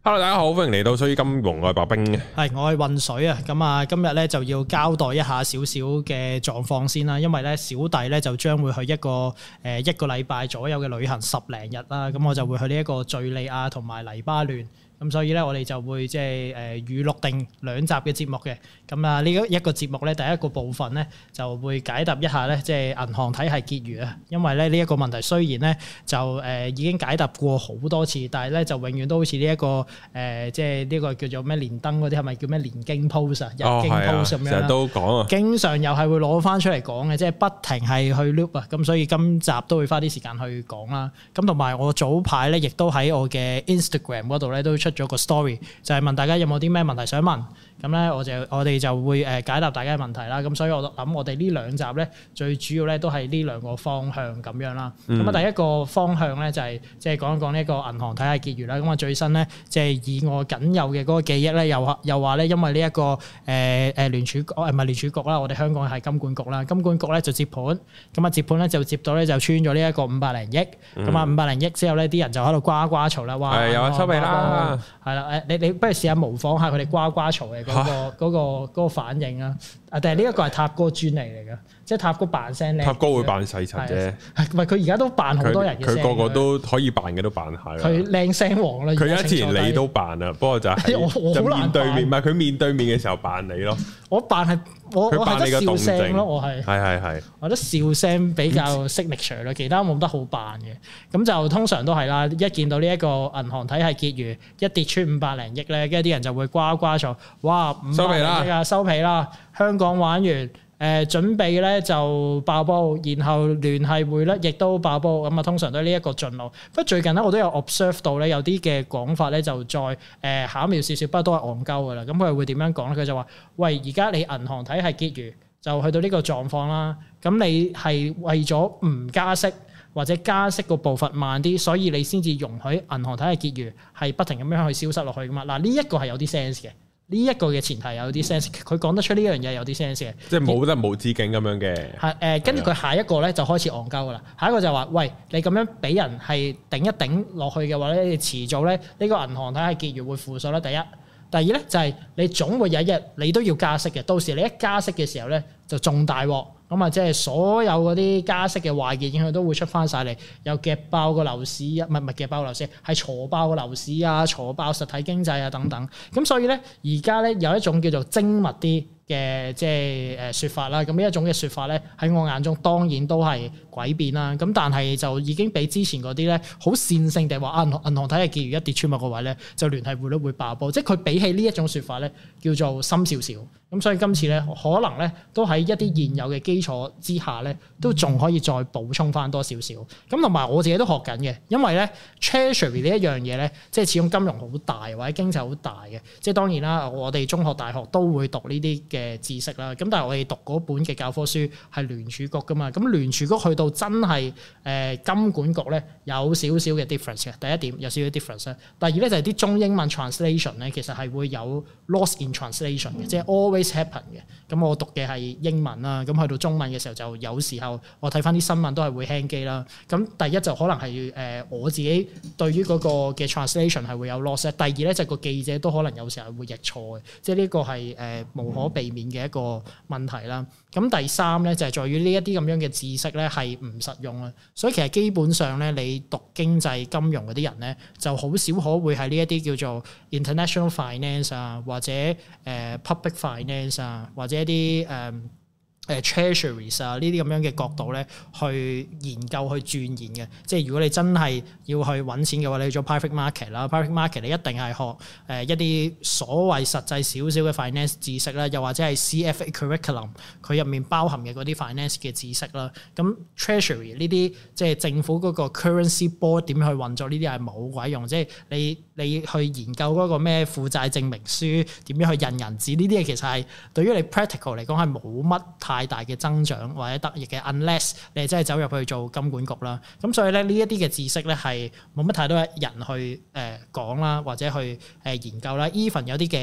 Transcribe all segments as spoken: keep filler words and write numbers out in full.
Hello， 大家好，歡迎嚟到水與金融，我係白兵嘅， 係我係渾水啊。咁啊，今日咧就要交代一下少少嘅狀況先啦，因為咧小弟咧就將會去一個誒一個禮拜左右嘅旅行十零日啦，咁我就會去呢一個敘利亞同埋黎巴嫩。咁所以咧，我哋就會即係誒預錄定兩集嘅節目嘅。咁啊，呢一個節目咧，第一個部分咧就會解答一下咧，即係銀行體系結餘啊。因為咧呢一個問題雖然咧就誒已經解答過好多次，但係咧就永遠都好似呢一個誒即係呢個叫做咩連登嗰啲係咪叫咩連經 post 啊、日經 post 咁樣啦。成日都講啊，經常又係會攞翻出嚟講嘅，即係不停係去 loop 啊。咁所以今集都會花啲時間去講啦。咁同埋我早排咧，亦都喺我嘅 Instagram 嗰度咧都出咗個 story， 就係問大家有冇啲咩問題想問，咁咧我就我哋就會誒解答大家嘅問題啦。咁所以我諗我哋呢兩集咧最主要咧都係呢兩個方向咁樣啦。咁啊、嗯、第一個方向咧就係即係講一講呢一個銀行體系結餘啦。咁啊最新咧即係以我僅有嘅嗰個記憶咧，又又話咧因為呢、這、一個誒誒聯儲局唔係聯儲局啦，我哋香港係金管局啦，金管局咧就接盤，咁啊接盤咧就接到咧就穿咗呢一個五百零億，咁啊五百零億之後咧啲人就喺度呱呱嘈啦，話係有啊收尾啦。係啦，誒你你不如試下模仿下佢哋呱呱嘈嘅嗰個嗰、嗰個嗰個反應啊！啊，但係呢一個係塔哥專利嚟嘅，即係塔哥扮聲咧。塔哥會扮細柒啫，唔係佢而家都扮好多人嘅聲。佢個個都可以扮嘅都扮下㗎。佢靚聲王啦！佢而家之前你都扮啊，不過就係我就面對面，唔係佢面對面嘅時候扮你咯。我扮係我我係得笑聲咯，我係係係係，我覺得笑聲比較 signature 咯，其他冇得好扮嘅。咁就通常都係啦，一見到呢一個銀行體系結餘一跌穿五百零億咧，跟住啲人就會呱呱嘈，哇！收皮啦，收皮啦！香港玩完，誒、呃、準備咧就爆煲，然後聯繫匯率亦都爆煲，咁啊通常都係呢一個進路。不過最近咧我都有 observe 到咧有啲嘅講法咧就再誒、呃、巧妙少少，不過都係戇鳩噶啦。咁佢會點樣講咧？佢就話：喂，而家你銀行體系結餘就去到呢個狀況啦，咁你係為咗唔加息或者加息個步伐慢啲，所以你先至容許銀行體系結餘係不停咁樣去消失落去噶嘛？嗱，呢一個係有啲 sense 嘅。呢一個嘅前提有啲 sense，佢講得出呢樣嘢有啲 sense 嘅，即係冇得無止境咁樣嘅。係誒，跟住佢下一個咧就開始戇鳩噶啦。下一個就話：喂，你咁樣俾人係頂一頂落去嘅話咧，你遲早咧呢個銀行體系結餘會負數啦。第一，第二咧就係你總會有一日你都要加息嘅，到時你一加息嘅時候咧就仲大鑊。咁啊，即係所有嗰啲加息嘅壞嘅影響都會出翻晒嚟，又夾爆個樓市啊，唔係唔係夾爆個樓市，係挫爆個樓市啊，挫爆實體經濟啊等等。咁所以咧，而家咧有一種叫做精密啲嘅即係誒説法啦。咁呢一種嘅説法咧，喺我眼中當然都係詭辯啦。咁但係就已經比之前嗰啲咧好線性地話啊，銀行體系結餘一跌穿某個位咧，就聯繫匯率會爆煲。即係佢比起呢一種説法咧，叫做深少少。咁所以今次咧，可能咧都喺一啲現有嘅基礎之下咧，都仲可以再補充翻多少少。咁同埋我自己都學緊嘅，因為咧 Treasury 呢一樣嘢咧，即係始終金融好大或者經濟好大嘅。即係當然啦，我哋中學、大學都會讀呢啲嘅知識啦。咁但係我哋讀嗰本嘅教科書係聯儲局噶嘛。咁聯儲局去到真係誒金管局咧，有少少嘅 difference 嘅。第一點有少少 difference 咧。第二咧就係啲中英文 translation 咧，其實係會有 loss in translation 嘅，即係 always happen 嘅。咁我讀嘅係英文啦，咁去到中文嘅時候就有時候我睇翻啲新聞都係會輕機啦。咁第一就可能係誒、呃、我自己對於嗰個嘅 translation 係會有 loss。第二咧就個記者都可能有時候會譯錯嘅，即係呢個係誒、呃、無可避免嘅一個問題啦。咁第三咧就係在於呢一啲咁樣嘅知識咧係唔實用啊。所以其實基本上咧你讀經濟金融嗰啲人咧就好少可會喺呢一啲叫做 international finance 啊或者誒、呃、public finance 啊或者一啲誒。呃誒 treasuries 啊呢啲咁樣嘅角度咧，去研究去鑽研嘅。即係如果你真係要去揾錢嘅話，你去做 private market 啦 ，private market 你一定係學誒一啲所謂實際少少嘅 finance 知識啦，又或者係 C F A curriculum 佢入面包含嘅嗰啲 finance 嘅知識啦。咁 treasury 呢啲即係政府嗰個 currency board 點去運作呢啲係冇鬼用。即係你你去研究嗰個咩負債證明書點樣去印銀紙呢啲嘢，其實係對於你 practical 嚟講係冇乜太大嘅增長或者得益嘅 unless 你真係走入去做金管局啦。咁所以咧呢一啲嘅知識咧係冇乜太多人去誒講啦，或者去誒研究啦。even 有啲嘅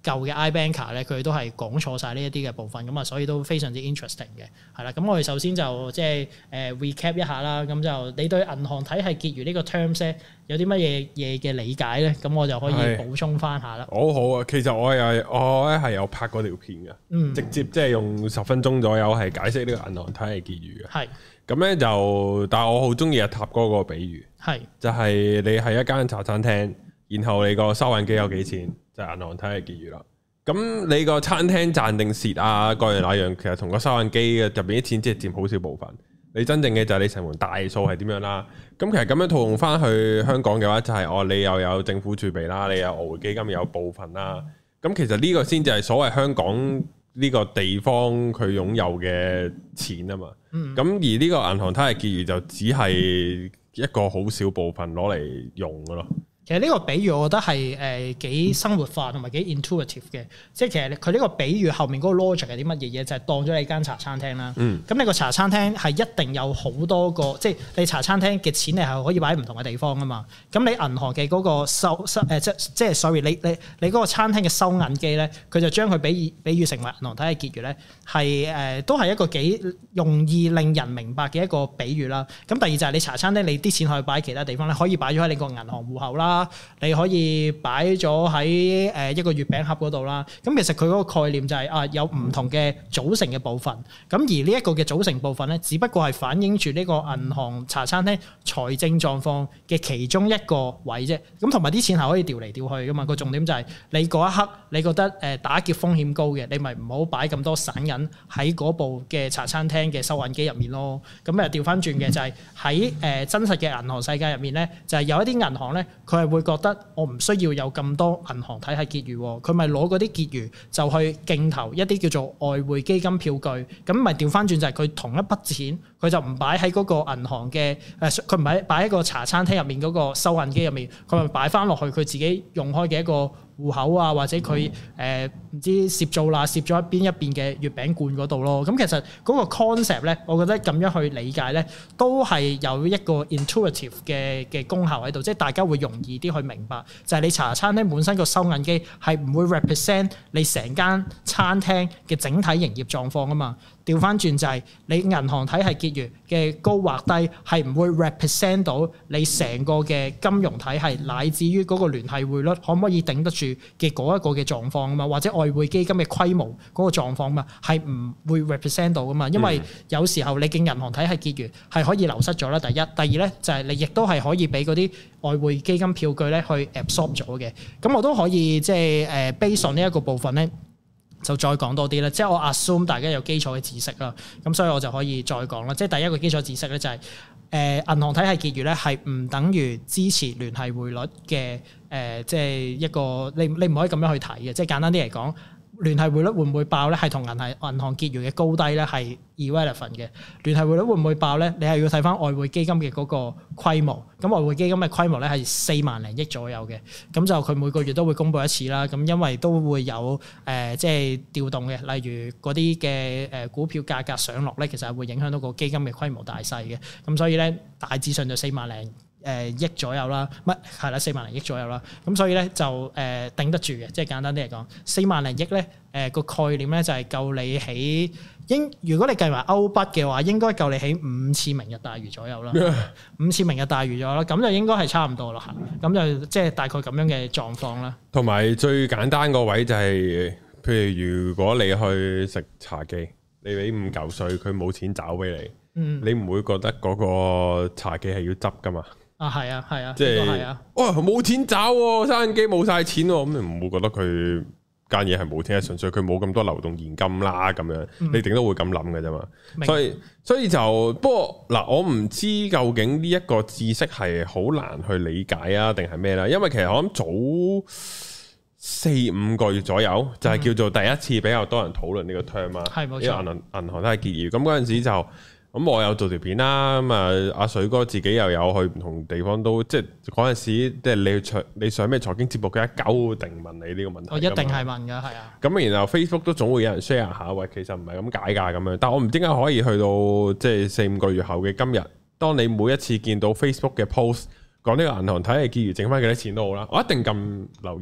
舊嘅 iBanker 咧，佢都係講錯晒呢一啲嘅部分，咁啊，所以都非常之 interesting 嘅，係啦。咁我哋首先就即係誒 recap 一下啦。咁就你對銀行體系結餘呢個 terms 咧有啲乜嘢嘢嘅理解咧？咁我就可以補充翻下啦。 好好啊，其實我又我咧係有拍過條片嘅，嗯、直接即係用十分鐘左右係解釋呢個銀行體系結餘嘅。係咁咧就，但係我好中意阿塔哥個比喻，係就係你係一間茶餐廳，然後你個收銀機有幾錢？就係銀行體系結餘啦，咁你個餐廳賺定蝕啊，各樣那樣，其實同個收銀機嘅入邊啲錢只係佔好少部分。你真正嘅就係你成盤大數係點樣啦。咁其實咁樣套用翻去香港嘅話，就係、是、哦，你又有政府儲備啦，你有外匯基金有部分啦。咁其實呢個先至係所謂香港呢個地方佢擁有嘅錢啊嘛。咁、嗯、而呢個銀行體系結餘就只係一個好少部分攞嚟用嘅咯。 其實呢個比喻我覺得係誒幾生活化同埋幾 intuitive 嘅，即係其實佢呢個比喻後面嗰個 logic 係啲乜嘢嘢？就係、是、當咗你間茶餐廳啦。咁、嗯、你個茶餐廳係一定有好多個，即係你茶餐廳嘅錢你係可以擺喺唔同嘅地方噶嘛。咁你銀行嘅嗰個收收誒即即係 sorry，你你你嗰個餐廳嘅收銀機咧，佢就將佢比喻比喻成為銀行體系結餘咧，係誒、呃、都係一個幾容易令人明白嘅一個比喻啦。咁第二就係你茶餐廳你啲錢可以擺喺其他地方咧，可以擺咗喺你個銀行戶口啦。你可以擺咗喺誒一個月餅盒嗰度啦。咁其實佢嗰個概念就係、是、啊有唔同嘅組成嘅部分。咁而呢一個嘅組成部分咧，只不過係反映住呢個銀行茶餐廳財政狀況嘅其中一個位啫。咁同埋啲錢係可以調嚟調去噶嘛。個重點就係你嗰一刻你覺得誒打劫風險高嘅，你咪唔好擺咁多散銀喺嗰部嘅茶餐廳嘅收銀機入面咯。咁啊調翻轉嘅就係喺誒真實嘅銀行世界入面咧，就係、是、有一啲銀行咧，佢係會覺得我唔需要有咁多銀行體系結餘，佢咪攞嗰啲結餘就去競投一啲叫做外匯基金票據，咁咪調翻轉就係佢同一筆錢，佢就唔擺喺嗰個銀行嘅誒，佢唔係擺喺個茶餐廳入面嗰個收銀機入面，佢咪擺翻落去佢自己用開嘅一個戶口啊，或者佢誒唔知攝做啦，攝咗一邊一邊嘅月餅罐嗰度咯。咁其實嗰個 concept 咧，我覺得咁樣去理解咧，都係有一個 intuitive 嘅嘅功效喺度，即係大家會容易啲去明白，就係、是、你茶餐廳本身個收銀機係唔會 represent 你成間餐廳嘅整體營業狀況啊嘛。調翻轉就係你銀行體系結餘嘅高或低係唔會 represent 到你成個嘅金融體系，乃至於嗰個聯繫匯率可唔可以頂得住嘅嗰一個嘅狀況啊嘛，或者外匯基金嘅規模嗰個狀況嘛，係唔會 represent 到噶嘛。因為有時候你嘅銀行體系結餘係可以流失咗啦。第一，第二咧就係你亦都係可以俾嗰啲外匯基金票據咧去 absorb 咗嘅。咁我都可以即係誒 base on 呢一個部分咧，就再講多啲啦，即係我 assume 大家有基礎嘅知識啦，咁所以我就可以再講啦。即係第一個基礎知識咧就係、是、誒、呃、銀行體系結餘咧係唔等於支持聯繫匯率嘅誒、呃，即係一個你你唔可以咁樣去睇嘅。即係簡單啲嚟講，聯繫匯率會唔會爆咧？係同銀行銀行結餘嘅高低咧係 irrelevant 嘅。聯繫匯率會唔會爆咧？你係要睇翻外匯基金嘅嗰個規模。咁外匯基金嘅規模咧係四萬零億左右嘅。咁就佢每個月都會公布一次啦。咁因為都會有誒、呃、即係調動嘅，例如嗰啲嘅誒股票價格上落咧，其實係會影響到個基金嘅規模大細嘅。咁所以咧大致上就四萬零誒億左右啦，乜係啦，四萬零億左右啦，咁所以咧就誒、呃、頂得住嘅，即係簡單啲嚟講，四萬零億咧誒個概念咧就係夠你起應，如果你計埋歐筆嘅話，應該夠你起五次明日大嶼左右啦，五次明日大嶼咗啦，咁就應該係差唔多啦，咁就即係大概咁樣嘅狀況啦。同埋最簡單個位就係、是，譬如如果你去食茶記，你俾五嚿水，佢冇錢找俾你，嗯、你唔會覺得嗰個茶記係要執噶嘛？啊，係啊，係啊，即係係啊，哇，冇錢找喎，收銀機冇晒錢喎，咁你唔會覺得佢間嘢係冇錢，係純粹佢冇咁多流動現金啦，咁樣、嗯、你頂都會咁諗嘅啫嘛。所以所以就不過嗱，我唔知究竟呢一個知識係好難去理解啊，定係咩啦？因為其實我諗早四五個月左右就係、是、叫做第一次比較多人討論呢個 term 啊，係冇錯，銀行銀行都係結餘，咁嗰陣時就。咁我有做條片啦，咁啊阿水哥自己又有去唔同地方都，即係嗰陣時，即係你財你上咩財經節目，佢一九定問你呢個問題。我一定係問㗎，係啊。咁然後 Facebook 都總會有人 share 下，喂，其實唔係咁解㗎咁樣。但係我唔知點解可以去到即係四五個月後嘅今日，當你每一次見到 Facebook 嘅 post 講呢個銀行體系結餘剩翻幾多錢都好啦，我一定撳留言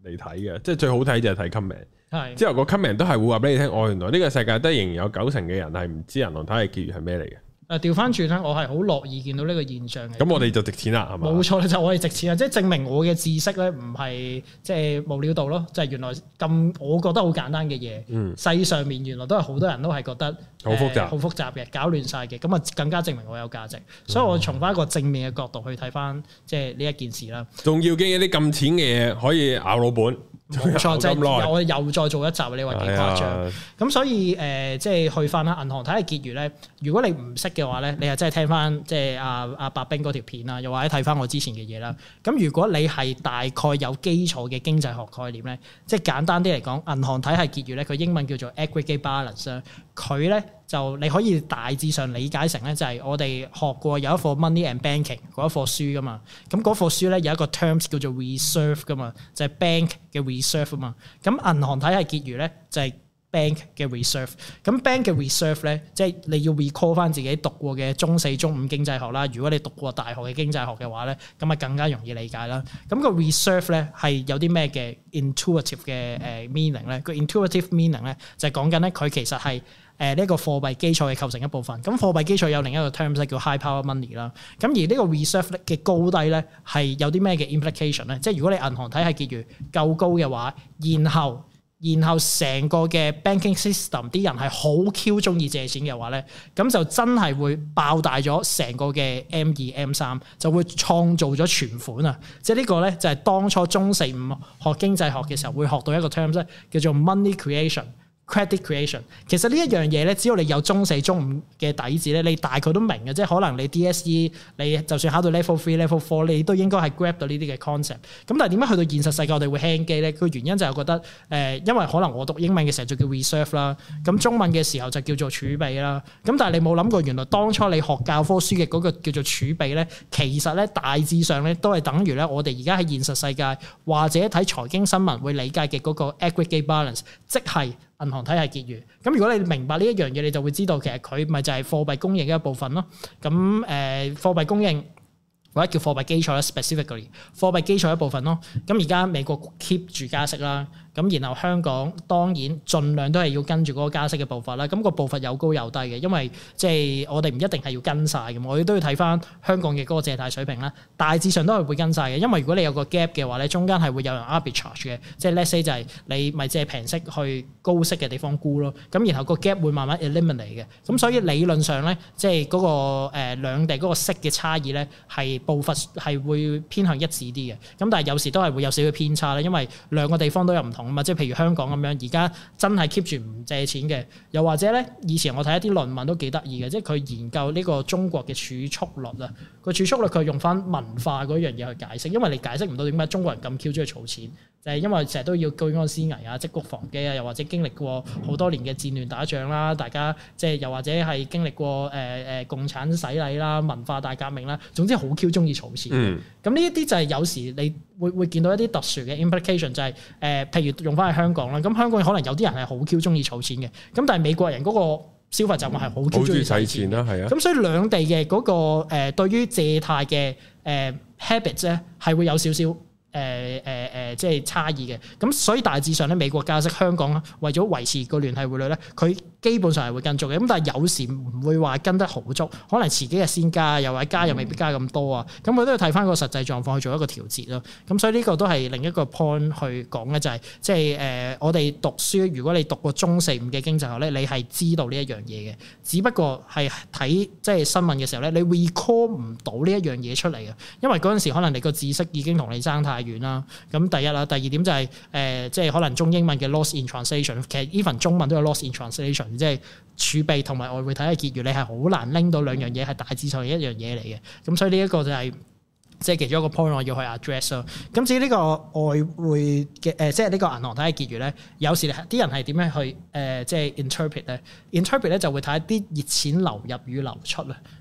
嚟睇嘅，即係最好睇就係睇 comment。 係之後個 comment 都係會話俾你聽，哦，原來呢個世界都仍然有九成嘅人係唔知銀行體系結餘係咩嚟嘅。 誒調翻轉咧，我係好樂意見到呢個現象嘅。 咁我哋就值錢啦，係嘛？ 冇錯，就我哋值錢啊！即係證明我嘅知識咧，唔係即係無料到咯，即係原來咁我覺得好簡單嘅嘢，嗯、世上面原來都係好多人都係覺得好複雜、 好、呃、複雜嘅，搞亂晒嘅，咁啊更加證明我有價值。所以我從翻一個正面嘅角度去睇翻，即係呢一件事啦。 仲要經一啲咁淺嘅嘢可以咬老本。 冇錯，即係我又再做一集，你話幾誇張？咁、哎、所以誒、呃，即係去翻啦，銀行體系結餘咧，如果你唔識嘅話咧，你係真係聽翻即係阿阿白兵嗰條片啦，又或者睇翻我之前嘅嘢啦。咁如果你係大概有基礎嘅經濟學概念咧，即係簡單啲嚟講，銀行體系結餘咧，佢英文叫做 aggregate balance 啦，佢咧就你可以大致上理解成咧，就係我哋學過有一課 money and banking 嗰一課書噶嘛。咁嗰課書咧有一個 terms 叫做 reserve 噶嘛，就係 bank 嘅 reserve 啊嘛。咁銀行體系結餘咧就係 bank 嘅 reserve。咁 bank 嘅 reserve 咧，即係你要 recall 翻自己讀過嘅中四、中五經濟學啦。如果你讀過大學嘅經濟學嘅話咧，咁啊更加容易理解啦。咁個 reserve 咧係有啲咩嘅 intuitive 嘅誒 meaning 咧？個 intuitive meaning 咧就係講緊咧佢其實係誒呢個貨幣基礎嘅構成一部分。咁貨幣基礎有另一個 terms 咧叫 high power money 啦。咁而呢個 reserve 嘅高低咧係有啲咩嘅 implication 咧？即係如果你銀行體系結餘夠高嘅話，然後然後成個嘅 banking system 啲人係好 Q 中意借錢嘅話咧，咁就真係會爆大咗成個嘅 M 二 M 三，就會創造咗存款啊！即係呢個咧就係當初中四五學經濟學嘅時候會學到一個 terms 咧，叫做 money creation。credit creation 其實呢一樣嘢咧，只要你有中四、中五嘅底子咧，你大概都明嘅，即係可能你 D S E 你就算考到 level three、level four， 你都應該係 grab 到呢啲嘅 concept。咁但係點解去到現實世界我哋會輕機咧？個原因就係覺得誒、呃，因為可能我讀英文嘅時候就叫 reserve 啦，咁中文嘅時候就叫做儲備啦。咁但係你冇諗過，原來當初你學教科書嘅嗰個叫做儲備咧，其實咧大致上咧都係等於咧我哋而家喺現實世界或者睇財經新聞會理解嘅嗰個 aggregate balance，即係銀行體系結餘。咁如果你明白呢一樣嘢，你就會知道其實佢咪就係貨幣供應嘅一部分咯。咁誒、呃、貨幣供應或者叫貨幣基礎啦 ，specifically 貨幣基礎一部分咯。咁而家美國 keep 住加息啦。咁然後香港當然盡量都係要跟住嗰個加息嘅步伐啦。咁個步伐有高有低嘅，因為即係我哋唔一定係要跟晒嘅，我哋都要睇翻香港嘅嗰個借貸水平啦。大致上都係會跟晒嘅，因為如果你有個 gap 嘅話咧，中間係會有人 arbitrage 嘅，即係 let's say 就係你咪借平息去高息嘅地方沽咯。咁然後個 gap 會慢慢 eliminate 嘅。咁所以理論上咧，即係嗰個誒兩地嗰個息嘅差異咧，係步伐係會偏向一致啲嘅。咁但係有時都係會有少少偏差啦，因為兩個地方都有唔同。即係譬如香港咁樣，而家真係 keep 住唔借錢嘅，又或者咧，以前我睇一啲論文都幾得意嘅，即係佢研究呢個中國嘅儲蓄率啊，個儲蓄率佢用翻文化嗰樣嘢去解釋，因為你解釋唔到點解中國人咁 Q 中意儲錢，就係因為成日都要居安思危啊，積谷防饑啊，又或者經歷過好多年嘅戰亂打仗啦，大家即係又或者係經歷過誒誒、呃、共產洗禮啦、文化大革命啦，總之好 Q 中意儲錢。咁呢一啲就係有時你會會見到一啲特殊嘅 implication，就係、是、誒、呃，譬如用翻喺香港啦，咁香港可能有啲人係好 Q 中意儲錢嘅，咁但係美國人嗰個消費習慣係好 Q 中意使錢啦，係啊，咁所以兩地嘅嗰、那個誒、呃、對於借貸嘅誒 habits 咧係會有少少。誒誒誒，即係差異嘅，咁所以大致上咧，美國加息，香港為咗維持個聯繫匯率咧，佢基本上係會跟足嘅，咁但係有時唔會話跟得好足，可能遲幾日先加，又或者加又未必加咁多啊，咁佢都要睇翻個實際狀況去做一個調節咯。咁所以呢個都係另一個 point 去講嘅，就係即係誒我哋讀書，如果你讀過中四五嘅經濟學咧，你係知道呢一樣嘢嘅，只不過係睇即係新聞嘅時候咧，你 recall 唔到呢一樣嘢出嚟嘅，因為嗰陣時可能你個知識已經同你爭太遠啦。咁第一啦，第二點就係、是、誒、呃，即係可能中英文嘅 loss in translation，其實 even 中文都有 loss in translation， 即係儲備同埋外匯體系結餘，你係好難拎到兩樣嘢係大致上一樣嘢嚟嘅。咁所以呢一個就係、是。即係其中一個 point 我要去 address 咯。咁至於呢個外匯嘅誒，即係呢個銀行體系結餘咧，有時啲人係點樣去誒，即係 interpret 咧？interpret 咧就會睇一啲熱錢流入與流出啊。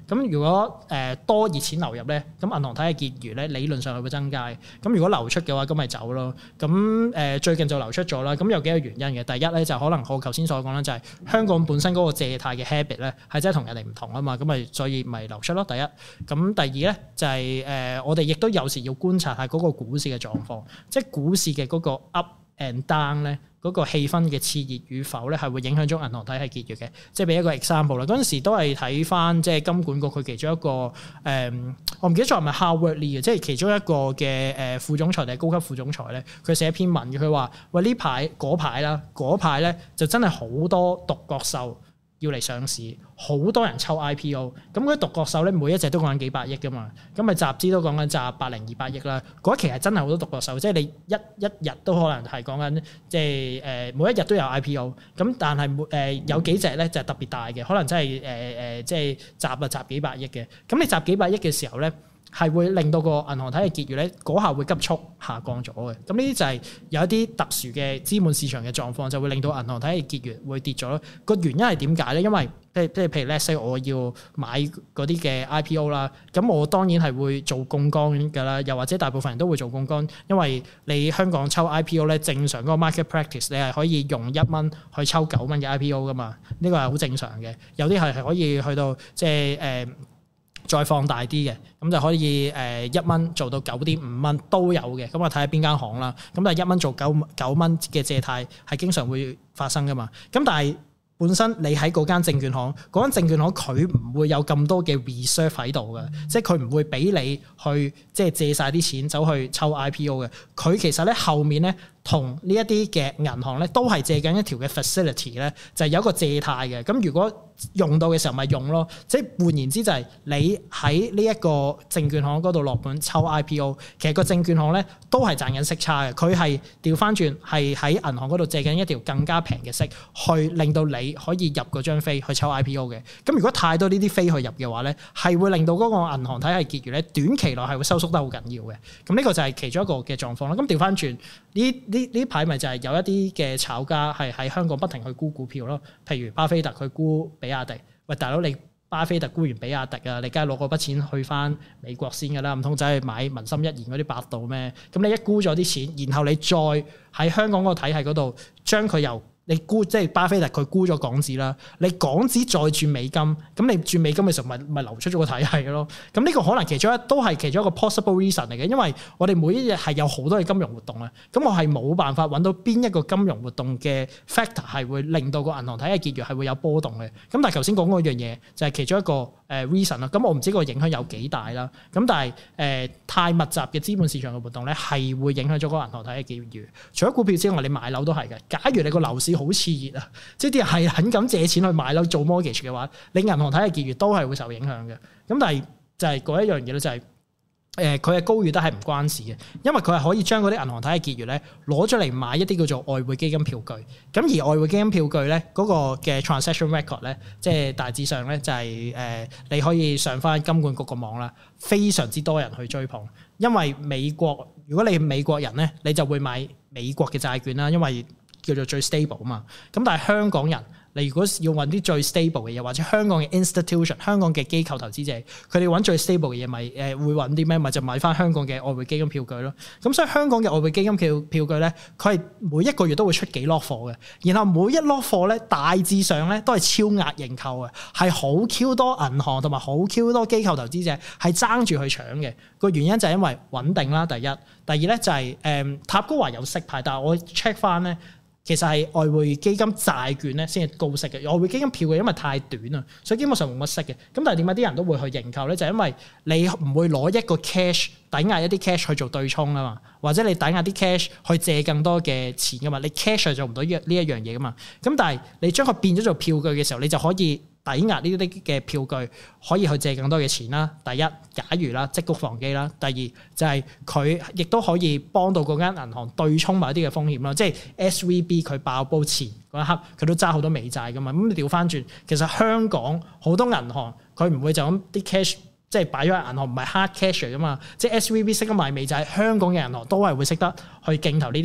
咁如果誒、呃、多熱錢流入咧，咁銀行體系結餘咧理論上係會增加嘅。咁如果流出嘅話，咁咪走咯。咁誒、呃、最近就流出咗啦。咁有幾個原因嘅。第一咧就可能我頭先所講啦，就係香港本身嗰個借貸嘅 habit 咧係真係同人哋唔同啊嘛。咁咪所以咪流出咯。第一。咁第二咧就係、是、誒、呃、我哋亦都有時要觀察下嗰個股市嘅狀況，即係股市嘅嗰個 up and down 咧。嗰個氣氛嘅熾熱與否咧，係會影響咗銀行體系結餘嘅。即係俾一個 example 啦，嗰陣時都係睇翻即係金管局佢其中一個誒、嗯，我唔記得咗係咪 Howard Lee 嘅，即係其中一個嘅誒副總裁定係高級副總裁咧，佢寫一篇文嘅，佢話喂呢排嗰排啦，嗰排咧就真係好多獨角獸要嚟上市，好多人抽 I P O， 咁嗰啲獨角獸咧每一隻都講緊幾百億噶嘛，咁咪集資都講緊集百零二百億啦。嗰一期係真係好多獨角獸，即係你一一日都可能係講緊，即係誒每一日都有 I P O， 咁但係誒、呃、有幾隻咧就係特別大嘅，可能真係誒誒即係集啊集幾百億嘅。咁你集幾百億嘅時候咧，係會令到個銀行體系結餘咧嗰下會急速下降咗嘅。咁呢啲就係有一啲特殊嘅資本市場嘅狀況，就會令到銀行體系結餘會跌咗。個原因係點解咧？因為即係即係譬如 let's say 我要買嗰啲嘅 I P O 啦，咁我當然係會做槓桿㗎啦，又或者大部分人都會做槓桿，因為你香港抽 I P O 咧，正常嗰個 market practice 你係可以用一蚊去抽九蚊嘅 I P O 㗎嘛，呢個係好正常嘅。有啲係係可以去到即係誒。呃再放大啲嘅，咁就可以誒一蚊做到九點五蚊都有嘅，咁我睇下邊間行啦。咁但係一蚊做九九蚊嘅借貸係經常會發生噶嘛。咁但係本身你喺嗰間證券行，嗰間證券行佢唔會有咁多嘅 reserve 喺度嘅，即係佢唔會俾你去即係借晒啲錢走去抽 I P O 嘅。佢其實咧後面咧同呢一啲嘅銀行咧都係借緊一條嘅 facility 咧，就係有一個借貸嘅。咁如果用到嘅時候咪用咯，即係換言之就係你喺呢一個證券行嗰度落盤抽 I P O， 其實個證券行咧都係賺緊息差嘅，佢係調翻轉係喺銀行嗰度借緊一條更加平嘅息，去令到你可以入嗰張飛去抽 I P O 嘅。咁如果太多呢啲飛去入嘅話咧，係會令到嗰個銀行體系結餘咧短期內係會收縮得好緊要嘅。咁呢個就係其中一個嘅狀況啦。咁調翻轉呢呢呢排咪就係有一啲嘅炒家係喺香港不停去沽股票咯，譬如巴菲特佢沽比亞迪，喂大佬你巴菲特沽完比亞迪啊，你梗係攞嗰筆錢去翻美國先㗎啦，唔通走去買文心一言嗰啲百度咩？咁你一沽咗啲錢，然後你再喺香港嗰個體系嗰度將佢由你沽即係巴菲特佢沽咗港紙啦，你港紙再轉美金，咁你轉美金嘅時候咪咪流出咗個體系咯。咁呢個可能其中一都係其中一個 possible reason 嚟嘅，因為我哋每一日係有好多嘅金融活動啊，咁我係冇辦法揾到邊一個金融活動嘅 factor 係會令到個銀行體系結餘係會有波動嘅。咁但係頭先講嗰樣嘢就係其中一個誒 reason 啦。咁我唔知個影響有幾大啦。咁但係誒、呃、太密集嘅資本市場嘅活動咧係會影響咗個銀行體系結餘。除咗股票之外，你買樓都係嘅。假如你個樓市好熾熱啊！即係啲人係肯咁借錢去買樓做 mortgage 嘅話，你銀行體系結餘都係會受影響嘅。咁但係就係嗰一樣嘢咧，就係誒佢係高與低係唔關事嘅，因為佢係可以將嗰啲銀行體系結餘咧攞出嚟買一啲叫做外匯基金票據。咁而外匯基金票據咧嗰個嘅 transaction record 咧，即係大致上咧就係誒你可以上翻金管局個網啦，非常之多人去追捧，因為美國如果你係美國人咧，你就會買美國嘅債券啦，因為叫做最 stable 啊嘛，咁但係香港人，你如果要揾啲最 stable 嘅嘢，或者香港嘅 institution、香港嘅機構投資者，佢哋揾最 stable 嘅嘢，咪誒會揾啲咩？咪就買翻香港嘅外匯基金票據咯。咁所以香港嘅外匯基金票票據咧，佢係每一個月都會出幾攞貨嘅，然後每一攞貨咧大致上咧都係超額認購嘅，係好 Q 多銀行同埋好 Q 多機構投資者係爭住去搶嘅。個原因就係因為穩定啦，第一，第二咧就係、是、誒、嗯、塔高華有息派，但係我 check 翻咧。其實係外匯基金債券咧先係高息嘅，外匯基金票嘅因為太短啊，所以基本上冇乜息嘅。咁但係點解啲人都會去認購咧？就係、因為你唔會攞一個 cash 抵押一啲 cash 去做對沖啊嘛，或者你抵押啲 cash 去借更多嘅錢噶嘛，你 cash 係做唔到呢呢一樣嘢噶嘛。咁但係你將佢變咗做票據嘅時候，你就可以抵押呢啲嘅票據，可以去借更多嘅錢啦。第一，假如啦，積谷防饑啦；第二就係佢亦都可以幫到嗰間銀行對沖埋一啲嘅風險啦。即係 S V B 佢爆煲前嗰一刻，佢都揸好多美債噶嘛。咁你調翻轉，其實香港好多銀行佢唔會就咁啲 cash 即係擺咗喺銀行，唔係 hard cash 嚟噶嘛。即係 S V B 識得賣美債，香港嘅銀行都係會識得去競投呢啲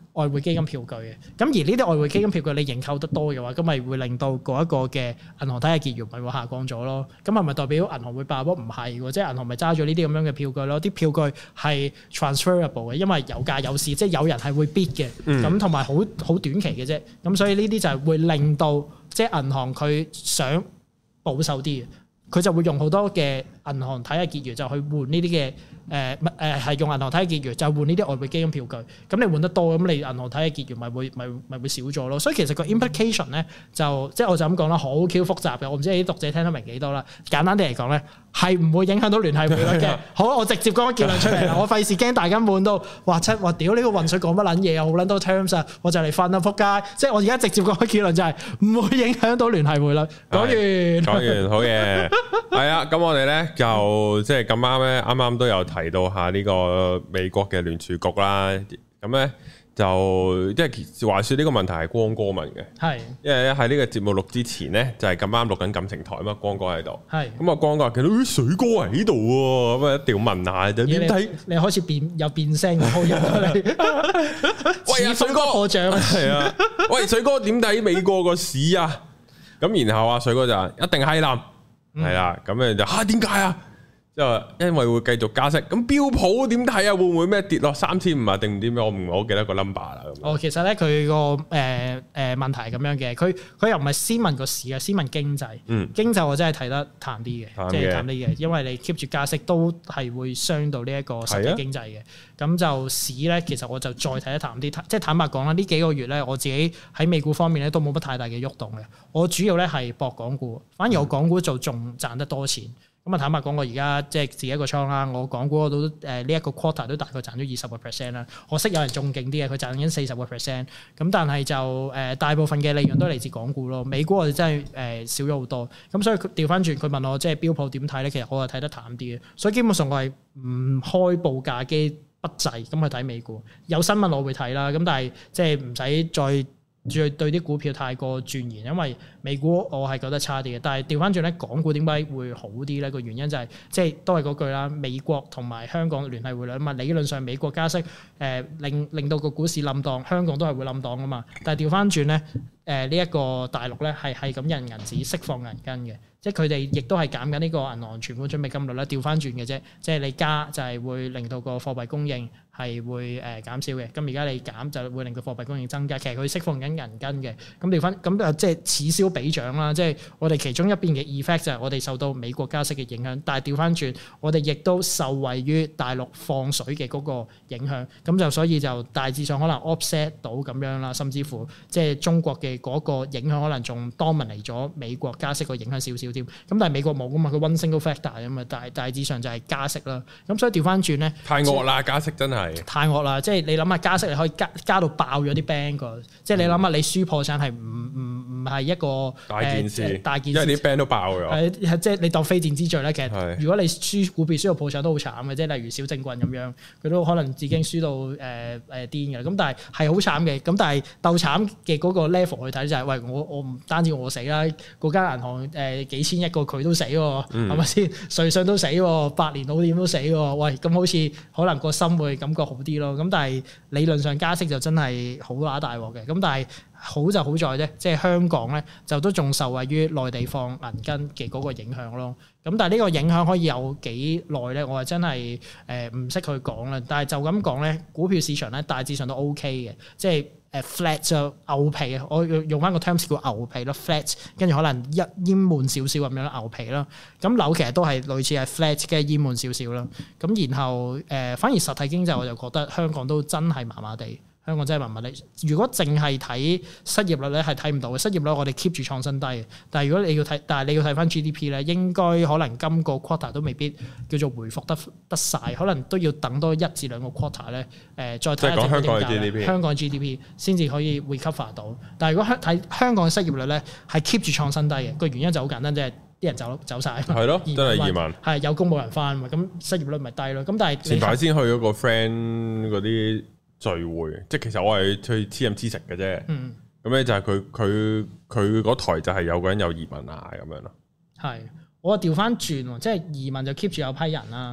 外匯基金票據嘅。咁而呢啲外匯基金票據你認購得多嘅話，咁咪會令到嗰一個嘅銀行體系結餘咪會下降咗咯。咁係咪代表銀行會爆煲？唔係喎，即係銀行咪揸咗呢啲咁樣嘅票據咯。啲票據係 transferable 嘅，因為有價有市，即係有人係會 bid 嘅。咁同埋好好短期嘅啫。咁所以呢啲就係會令到即係銀行佢想保守啲嘅，佢就會用好多嘅銀行體系結餘就去換呢啲嘅。誒誒係用銀行體系結餘就係換呢啲外匯基金票據，咁你換得多，咁你銀行體系結餘咪會咪咪會少咗咯。所以其實個 implication 咧就即係我就咁講啦，好 Q 複雜嘅，我唔知你啲讀者聽得明幾多啦。簡單啲嚟講咧，係唔會影響到聯繫匯率嘅。好，我直接講個結論出嚟啦，我費事驚大家悶到話七話屌呢個渾水講乜撚嘢啊，好撚多 terms 啊，我就嚟瞓啦，仆街！即係我而家直接講個結論就係唔會影響到聯繫匯率。講完， 講完，好嘢。係啊，咁我哋咧就即係咁啱咧，啱啱都有提到下呢個美國嘅聯儲局啦，咁咧就即係話說呢個問題係光哥問嘅，係是，因為喺呢個節目錄之前咧就係咁啱錄緊感情台啊嘛，光哥喺度，係是，咁啊光哥見到啲水哥喺度喎，咁啊一定要問下就點睇？你開始變有變聲，好入嚟，喂啊水哥破障啊，係啊，喂水哥點睇美國個市啊？咁然後啊水哥就一定係冧，係啦、嗯，咁樣就吓點解啊？就因為會繼續加息，咁標普點睇啊？會唔會咩跌落三千五啊？定唔知咩？我唔係好記得個 number 啦。哦，其實咧佢個誒誒問題係咁樣嘅，佢佢又唔係先問個市啊，先問經濟。嗯，經濟我真係睇得淡啲嘅，即係淡啲嘅，因為你 keep 住加息都係會傷到呢一個實體經濟嘅。咁、啊、就市咧，其實我就再睇得淡啲，即係坦白講啦，呢幾個月咧，我自己喺美股方面咧都冇乜太大嘅喐動嘅。我主要咧係博港股，反而我港股就仲賺得多錢。咁啊，坦白講，我而家即係自己一個倉啦。我港股都誒呢一個 quarter 都大概賺咗二十個 percent 啦。我識有人仲勁啲嘅，佢賺緊四十個 percent。咁但係就誒、呃、大部分嘅利潤都嚟自港股咯。美股我哋真係誒、呃、少咗好多。咁所以調翻轉，佢問我即係標普點睇咧？其實我係睇得淡啲嘅。所以基本上我係唔開報價機不滯咁去睇美股。有新聞我會睇啦。咁但係即係唔使再再對啲股票太過鑽研，因為美股我係覺得差啲嘅。但係調翻轉咧，港股點解會好啲咧？個原因就係、是、即係都係嗰句啦，美國同埋香港聯繫匯率啊嘛。理論上美國加息誒、呃、令令到個股市冧檔，香港都係會冧檔噶嘛。但係調翻轉咧，誒呢一個大陸咧係係咁印銀紙釋放銀根嘅。即係佢哋亦都係減緊呢個銀行存款準備金率啦，調翻轉嘅啫。即係你加就係會令到個貨幣供應係會誒減少嘅。咁而家你減就會令到貨幣供應增加。其實佢釋放緊銀根嘅。咁調翻咁啊，即係此消彼長啦。即係我哋其中一邊嘅 effect 就係我哋受到美國加息嘅影響，但係調翻轉我哋亦都受惠於大陸放水嘅嗰個影響。咁就所以就大致上可能 offset 到咁樣啦，甚至乎即係中國嘅嗰個影響可能仲 dominate 咗美國加息個影響少少。咁但係美國冇噶嘛，佢 one single factor 啊嘛，大大致上就係加息啦。咁所以調翻轉咧，太惡啦，加息真係太惡啦。即係你諗下加息，你可以加加到爆咗啲 bank 㗎。即係你諗下，你輸破產係唔唔唔係一個大件事，呃、大件事，因為啲 bank 都爆咗。係即係你當非戰之罪咧。其實如果你輸股票輸到破產都好慘嘅，即係例如小政棍咁樣，佢都可能已經輸到誒誒癲嘅。咁但係係好慘嘅。咁但係鬥慘嘅嗰個 level 去睇就係、是，喂我我唔單止我死啦，嗰間銀行誒、呃、幾千一個佢都死喎，係咪先？瑞信都死喎，百年老店都死喎。喂，咁好似可能個心會感覺好啲咯。咁但係理論上加息就真係好乸大鑊嘅。咁但係好就好在啫，即係香港咧就都仲受惠於內地放銀根嘅嗰個影響咯。咁但係呢個影響可以有幾耐咧？我係真係誒唔識去講啦。但係就咁講咧，股票市場咧大致上都 OK 嘅，即係。誒 flat 就牛皮啊！我用用翻個 terms 叫牛皮咯 ，flat 跟住可能一淹悶少少咁樣牛皮啦。咁樓其實都係類似係 flat 嘅淹悶少少啦。咁然後誒、呃，反而實體經濟我就覺得香港都真係麻麻地。香港真係麻麻地。如果淨係睇失業率咧，係睇唔到嘅。失業率我哋 keep 住創新低嘅。但係如果你要睇，但係你要睇翻 G D P 咧，應該可能今個 quarter 都未必叫做回復得得曬，可能都要等多一至兩個 quarter 咧。誒，再睇下整個點解香港 G D P 先至可以 recover 到。但係如果香睇香港嘅失業率咧，係 keep 住創新低嘅。個原因就好簡單，即係啲人走走曬。係咯，真係移民。係有工冇人返嘛，咁失業率咪低咯。咁但係前排先去嗰個 friend 嗰啲聚會，即係其實我係去黐飲黐食嘅啫。嗯，咁咧就係佢佢佢嗰台就係有個人有移民啊咁樣咯。係，我調翻轉喎，即係移民就 keep 住有批人啦。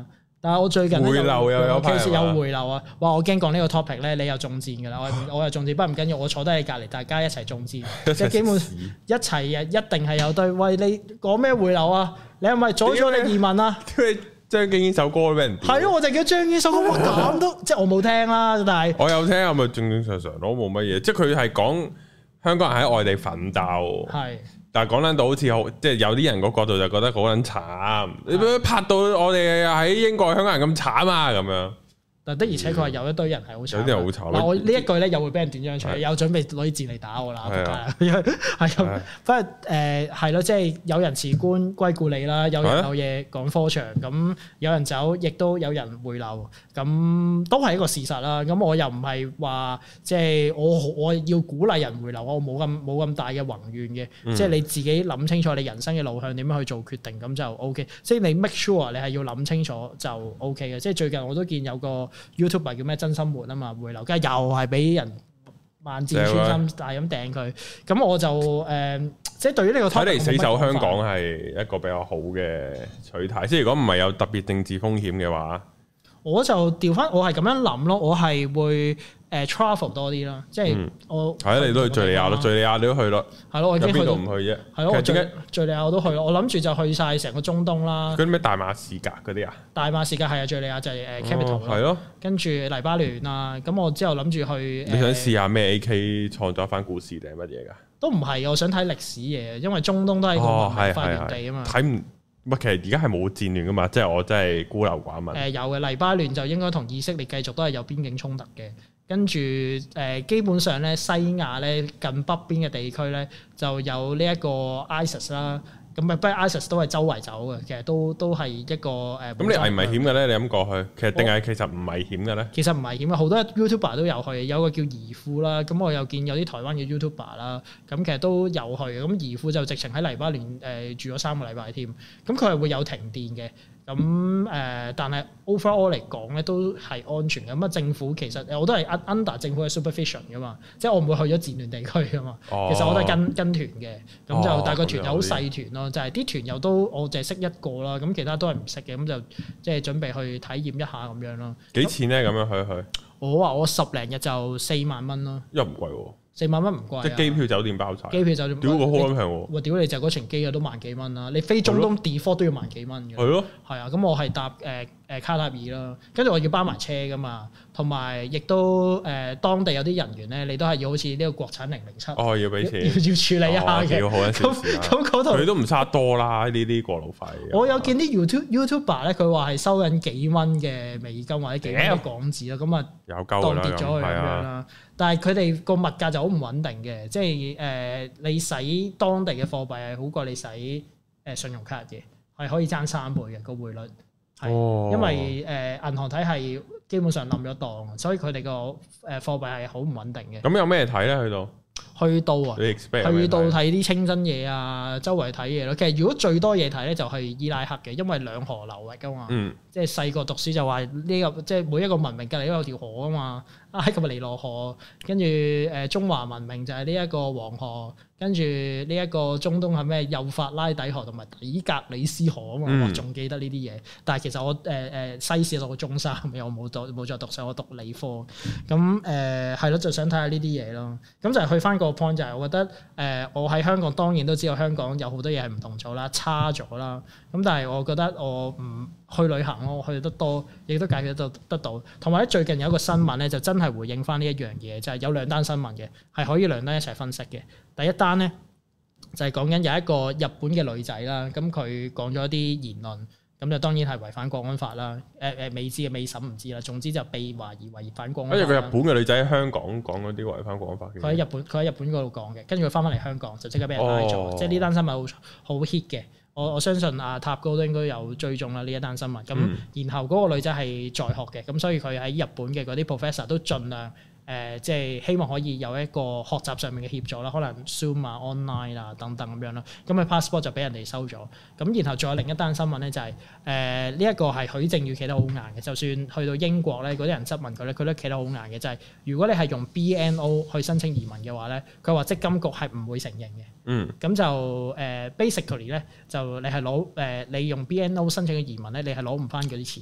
但係我最近回流又有其實有回流啊！哇！我驚講呢個 topic 咧，你又中箭㗎啦！我我又中箭，不過唔緊要，我坐低喺隔離，大家一齊中箭，即係基本一齊啊！一定係有對。喂，你講咩回流啊？你係咪阻咗你移民啊？ 張敬軒首歌俾人係咯，我就叫張敬軒首歌，哇咁都即係我冇聽啦，但係我有聽，我咪正正常常都冇乜嘢。即係佢係講香港人喺外地奮鬥，係。但係講撚到好似好，即係有啲人個角度就覺得好撚慘。你點解拍到我哋喺英國香港人咁慘啊？咁樣。但的而且確係有一堆人係好慘。 有啲人好慘。 嗱，我呢一句咧又會俾人斷章取義，有準備攞啲字嚟打我啦，係咁。不過誒係咯，即係有人辭官歸故里啦，有人有嘢趕科場，咁有人走，亦都有人回流，咁都係一個事實啦。咁我又唔係話即係我我要鼓勵人回流，我冇咁冇咁大嘅宏願嘅。即係你自己諗清楚你人生嘅路向點樣去做決定，咁就 O K。即係你 make sure 你係要諗清楚就 O K 嘅。即係最近我都見有個 YouTuber 叫咩真心活啊嘛，回流，跟住又係俾人萬箭穿心，但係咁掟佢，咁我就誒、呃，即係對於呢個睇嚟死守香港係一個比較好嘅取態，即係如果唔係有特別政治風險嘅話， 我就調翻，我係咁樣諗咯，我係會。誒 travel 多啲啦，即係我係啊，你都去敍利亞咯，敍利亞你都去咯，係咯，我已經去到唔去啫？係咯，我敍敍利亞我都去咯，我諗住就去晒成個中東啦。 嗰啲咩大馬士革嗰啲啊？ 大馬士革係啊，敍利亞就係誒 capital 咯， 係咯。跟住黎巴嫩啊，咁我之後諗住去。 你想試下咩 A K 創作一番故事定係乜嘢㗎？ 都唔係，我想睇歷史嘢，因為中東都係個文明發源地啊嘛。 睇唔乜？其實而家係冇戰亂㗎嘛，即係我真係孤陋寡聞。 誒有嘅，黎巴嫩就應該同以色列繼續都係有邊境衝突嘅。跟住誒，基本上咧，西亞咧近北邊嘅地區咧就有呢一個 ISIS 啦。咁啊，不過 ISIS 都係周圍走嘅，其實都都係一個誒。咁你危唔危險嘅咧？你咁過去，其實定係其實唔危險嘅咧？ 其實唔危險嘅，好多 YouTuber 都有去，有個叫怡富啦。咁我又見有啲台灣嘅 YouTuber 啦，咁其實都有去。咁怡富就直情喺黎巴嫩誒住咗三個禮拜添。咁佢係會有停電嘅。咁誒、呃，但係 overall 嚟講咧，都係安全嘅。咁啊，政府其實我都係 under 政府嘅 supervision 噶嘛，即係我唔會去咗戰亂地區噶嘛。哦、其實我都係跟跟團嘅，咁就、哦、但係個團友好細團咯，就係啲團友都我淨係識一個啦，咁其他都係唔識嘅，咁就即係準備去體驗一下咁樣咯。 幾錢咧？咁樣去去？我話我十零日就四萬蚊咯， 又唔貴喎。 四萬蚊唔貴， 即係機票酒店包曬。 機票酒店， 屌個好撚平喎！ 哇！屌你就嗰程機啊都萬幾蚊啦，你飛中東 default 都要萬幾蚊嘅。 係咯。係啊，咁我係搭誒誒卡塔爾啦，跟住我要包埋車噶嘛，同埋亦都誒當地有啲人員咧，你都係要好似呢個國產零零七。哦，要俾錢。要要處理一下嘅。要好一少少。咁咁嗰度。佢都唔差多啦，呢啲過路費。我有見啲 YouTube YouTuber 咧，佢話係收緊幾蚊嘅美金或者幾蚊港紙啦，咁啊有夠啦，當跌咗佢咁樣啦。但係佢哋個物價就好唔穩定嘅，即係誒、呃、你使當地嘅貨幣係好過你使誒信用卡嘅，係可以爭三倍嘅個匯率，係、哦、因為誒、呃、銀行體系基本上冧咗檔，所以佢哋個誒貨幣係好唔穩定嘅。咁有咩睇咧？去到去到啊，去到睇啲清真嘢啊，周圍睇嘢咯。其實如果最多嘢睇咧，就係伊拉克嘅，因為兩河流域噶嘛，嗯、即係細個讀書就話呢個即係每一個文明隔離都有條河啊嘛。埃及嘅尼羅河，跟住誒中華文明就係呢一個黃河，跟住呢一個中東係咩幼發拉底河同埋底格里斯河啊嘛，嗯、我仲記得呢啲嘢。但係其實我誒誒、呃、西史讀到中三，我冇讀冇再讀上，我讀理科。咁誒係咯，就想睇下呢啲嘢咯。咁就係去翻個 point 就係，我覺得誒、呃、我喺香港當然都知道香港有好多嘢係唔同咗啦，差咗啦。咁但係我覺得我唔去旅行咯，我去得多，亦都解決得得到。同埋咧，最近有一個新聞咧，就真係回應翻呢一樣嘢，就係、是、有兩單新聞嘅，係可以兩單一齊分析嘅。第一單咧就係講緊有一個日本嘅女仔啦，咁佢講咗一啲言論，咁就當然係違反國安法啦。誒誒，未知嘅未審唔知啦，總之就被懷疑違反國安法。跟住佢日本嘅女仔喺香港講嗰啲違反國安法嘅。佢喺日本，佢喺日本嗰度講嘅，跟住佢翻返嚟香港就即刻俾人拉咗，哦、即係呢單新聞好好 hit 嘅。我我相信阿塔哥都應該有追蹤啦呢一單新聞，咁、嗯、然後嗰個女仔係在學嘅，咁所以佢喺日本嘅嗰啲 professor 都盡量誒，即、呃、係、就是、希望可以有一個學習上面嘅協助啦，可能 Zoom 啊、online 啊等等咁樣咯。咁佢 passport 就俾人哋收咗，咁然後仲有另一單新聞咧就係誒呢一個係許正宇企得好硬嘅，就算去到英國咧，嗰啲人質問佢咧，佢都企得好硬嘅，就係、是、如果你係用 B N O 去申請移民嘅話咧，佢話積金局係唔會承認嘅。嗯，咁就誒、uh, basically 咧，就你係攞誒你用 B N O 申請嘅移民咧，你係攞唔翻嗰啲錢嘅。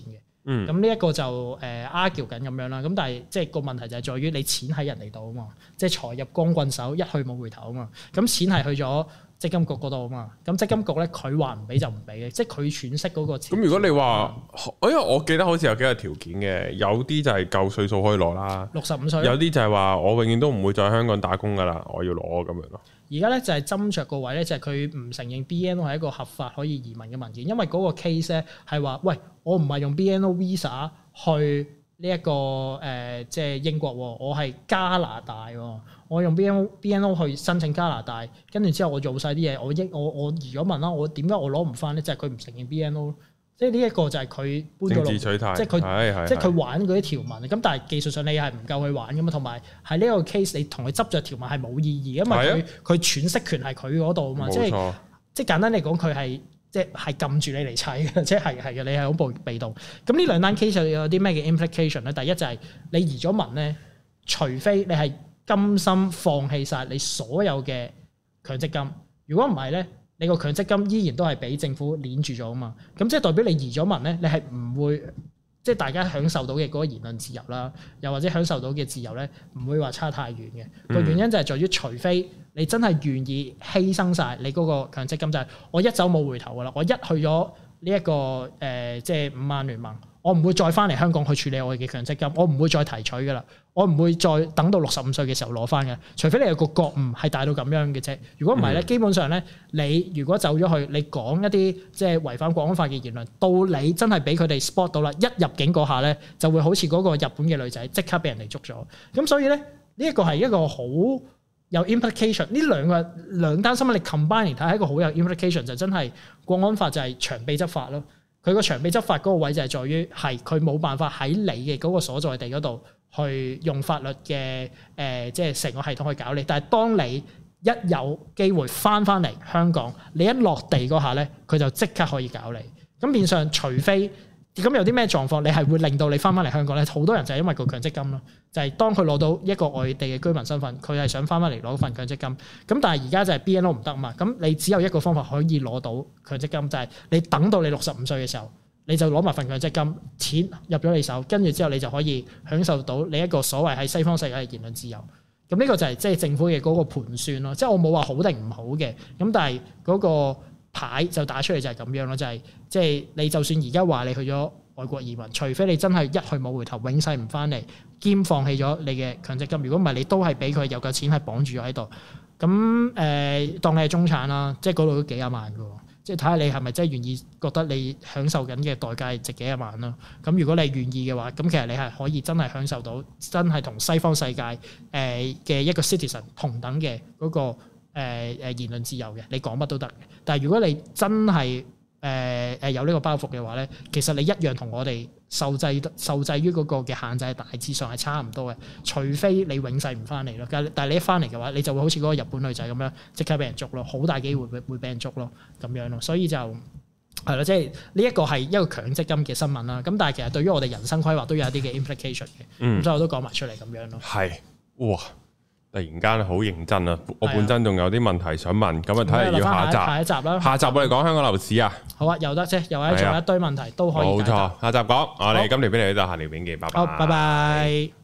嗯，咁呢一個就誒 argue 緊咁樣啦。咁但係即係個問題就係在於你錢喺人哋度啊嘛，即係財入光棍手，一去冇回頭啊嘛。咁錢係去咗積金局嗰度啊嘛。咁積金局咧佢話唔俾就唔俾嘅，即係佢喘息嗰個錢。 咁如果你話，因為我記得好似有幾個條件嘅，有啲就係夠歲數可以攞啦， 六十五歲。有啲就係話我永遠都唔會再喺香港打工噶啦，我要攞咁樣咯。 而家咧就係斟酌個位咧，就係佢唔承認 B N O 係一個合法可以移民嘅文件，因為嗰個 case 咧係話，喂，我唔係用 B N O visa 去呢、這、一個誒、呃，即係英國，我係加拿大，我用 B N O B N O 去申請加拿大，跟住之後我做晒啲嘢，我英我我移咗民啦，我點解我攞唔翻咧？就係佢唔承認 B N O。即係呢一個就係佢搬咗落，即係佢即係佢玩嗰啲條文。咁但係技術上你係唔夠佢玩噶嘛？同埋喺呢個 case 你同佢執着條文係冇意義，因為佢佢喘息權係佢嗰度啊嘛。即係即係簡單嚟講，佢係即係係撳住你嚟砌嘅，即係係嘅，你係好被被動。咁呢兩單 case 有啲咩嘅 implication 咧？第一就係你移咗民咧，除非你係甘心放棄晒你所有嘅強積金，如果唔係咧。你個強積金依然都係俾政府鏈住咗啊嘛，咁即係代表你移咗民咧，你係唔會即係大家享受到嘅嗰個言論自由啦，又或者享受到嘅自由咧，唔會話差太遠嘅。個、嗯、原因就係在於，除非你真係願意犧牲晒你嗰個強積金，就係、是、我一走冇回頭噶啦，我一去咗呢一個誒、呃、即係五萬聯盟，我唔會再翻嚟香港去處理我嘅強積金，我唔會再提取噶啦，我唔會再等到六十五歲嘅時候攞翻嘅，除非你有個覺悟係大到咁樣嘅啫。如果唔係咧，嗯、基本上咧，你如果走咗去，你講一啲即係違反國安法嘅言論，到你真係俾佢哋 spot 到啦，一入境嗰下咧，就會好似嗰個日本嘅女仔即刻俾人哋捉咗。咁所以咧，呢、這、一個係一個好有 implication。呢兩個兩單新聞你 combine 嚟睇，係一個好有 implication，就真係國安法就係長臂執法咯。佢個長臂執法嗰個位就係在於係佢冇辦法喺你嘅嗰個所在地嗰度去用法律嘅誒、呃，即係成個系統去搞你。但係當你一有機會翻翻嚟香港，你一落地嗰下咧，佢就即刻可以搞你。咁變相除非咁有啲咩狀況，你係會令到你翻翻嚟香港咧？好多人就係因為個強積金咯，就係、是、當佢攞到一個外地嘅居民身份，佢係想翻翻嚟攞份強積金。咁但係而家就係 B N O 唔得啊嘛，咁你只有一個方法可以攞到強積金，就係、是、你等到你六十五歲嘅時候，你就攞埋份強積金，錢入咗你手，跟住之後你就可以享受到你一個所謂喺西方世界嘅言論自由。咁呢個就係即係政府嘅嗰個盤算咯，即係我冇話好定唔好嘅，咁但係嗰個牌就打出嚟就係咁樣咯，就係即係你就算而家話你去咗外國移民，除非你真係一去冇回頭，永世唔翻嚟，兼放棄咗你嘅強積金，如果唔係你都係俾佢有嚿錢係綁住咗喺度。咁誒、呃，當你係中產啦，即係嗰度都幾廿萬㗎喎，即係睇下你係咪真係願意覺得你享受緊嘅代價係值幾廿萬啦。咁如果你係願意嘅話，咁其實你係可以真係享受到真係同西方世界誒嘅一個 citizen 同等嘅嗰、嗰個誒、呃、言論自由嘅，你講乜都得嘅。但係如果你真係誒誒有呢個包袱嘅話咧，其實你一樣同我哋受制受制於嗰個嘅限制，大致上係差唔多嘅。除非你永世唔翻嚟咯，但係你一翻嚟嘅話，你就會好似嗰個日本女仔咁樣，即刻俾人捉咯，好大機會會會俾人捉咯，咁樣咯。所以就係咯，即係呢一個係一個強積金嘅新聞啦。咁但係其實對於我哋人生規劃都有一啲嘅 implication 嘅。嗯，咁所以我都講埋出嚟咁樣咯。係，哇！突然間好認真啊！我本身仲有啲問題想問，咁啊睇下要下集，下一集啦。下集我哋講香港樓市啊。好啊，又得啫，又或者仲有一堆問題都可以。冇錯，下集講。我哋今條片嚟到呢度，下條片見，拜拜。好，拜拜。